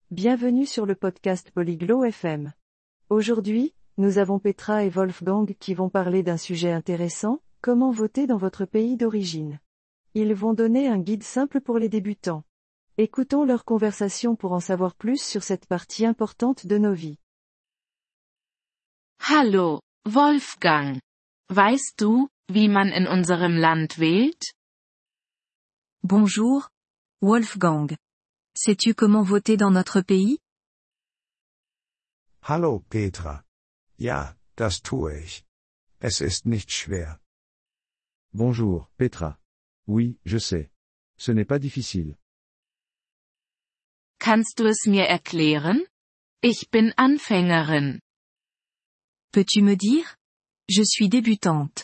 Bienvenue sur le podcast Polyglot FM. Aujourd'hui, nous avons Petra et Wolfgang qui vont parler d'un sujet intéressant, comment voter dans votre pays d'origine. Ils vont donner un guide simple pour les débutants. Écoutons leur conversation pour en savoir plus sur cette partie importante de nos vies. Hallo, Wolfgang. Weißt du, wie man in unserem Land wählt? Bonjour, Wolfgang. Sais-tu comment voter dans notre pays? Hallo Petra. Ja, das tue ich. Es ist nicht schwer. Bonjour, Petra. Oui, je sais. Ce n'est pas difficile. Kannst du es mir erklären? Ich bin Anfängerin. Peux-tu me dire? Je suis débutante.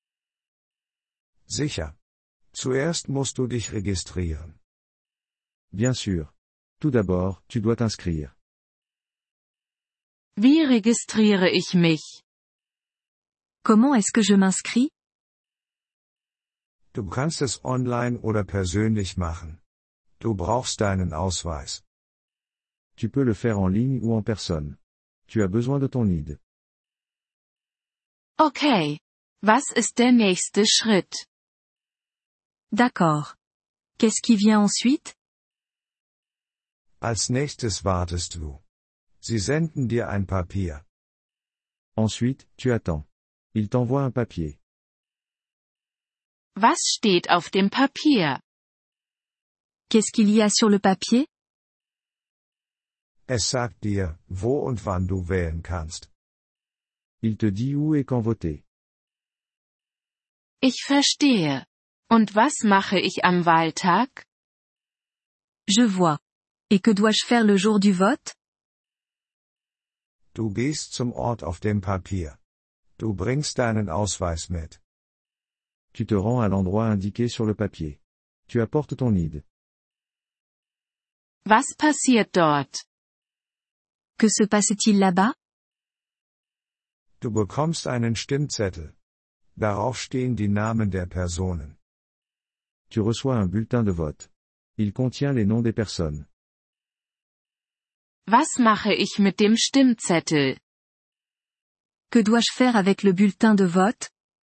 Sicher. Zuerst musst du dich registrieren. Bien sûr. Tout d'abord, tu dois t'inscrire. Wie registriere ich mich? Comment est-ce que je m'inscris? Du kannst es online oder persönlich machen. Du brauchst deinen Ausweis. Tu peux le faire en ligne ou en personne. Tu as besoin de ton ID. Okay. Was ist der nächste Schritt? D'accord. Qu'est-ce qui vient ensuite? Als nächstes wartest du. Sie senden dir ein Papier. Ensuite, tu attends. Il t'envoie un papier. Was steht auf dem Papier? Qu'est-ce qu'il y a sur le papier? Es sagt dir, wo und wann du wählen kannst. Il te dit où et quand voter. Ich verstehe. Und was mache ich am Wahltag? Je vois. Et que dois-je faire le jour du vote? Du gehst zum Ort auf dem Papier. Du bringst deinen Ausweis mit. Tu te rends à l'endroit indiqué sur le papier. Tu apportes ton ID. Was passiert dort? Que se passe-t-il là-bas? Du bekommst einen Stimmzettel. Darauf stehen die Namen der Personen. Tu reçois un bulletin de vote. Il contient les noms des personnes. Was mache ich mit dem Stimmzettel? Que dois-je faire avec le bulletin de vote?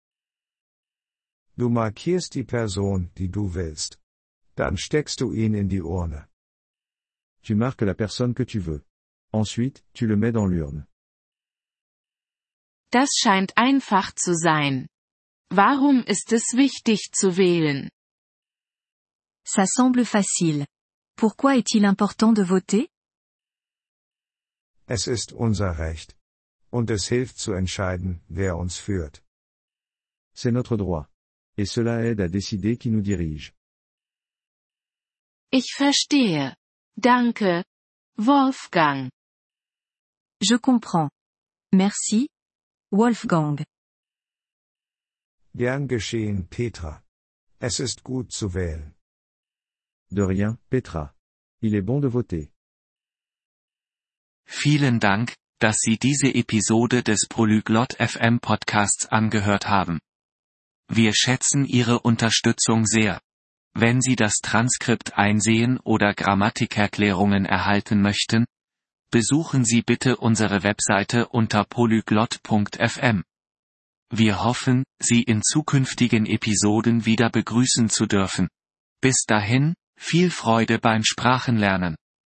Du markierst die Person, die du willst. Dann steckst du ihn in die Urne. Tu marques la personne que tu veux. Ensuite, tu le mets dans l'urne. Das scheint einfach zu sein. Warum ist es wichtig zu wählen? Ça semble facile. Pourquoi est-il important de voter? Es ist unser Recht. Und es hilft zu entscheiden, wer uns führt. C'est notre droit. Et cela aide à décider qui nous dirige. Ich verstehe. Danke, Wolfgang. Je comprends. Merci, Wolfgang. Gern geschehen, Petra. Es ist gut zu wählen. De rien, Petra. Il est bon de voter. Vielen Dank, dass Sie diese Episode des Polyglot FM Podcasts angehört haben. Wir schätzen Ihre Unterstützung sehr. Wenn Sie das Transkript einsehen oder Grammatikerklärungen erhalten möchten, besuchen Sie bitte unsere Webseite unter polyglot.fm. Wir hoffen, Sie in zukünftigen Episoden wieder begrüßen zu dürfen. Bis dahin, viel Freude beim Sprachenlernen.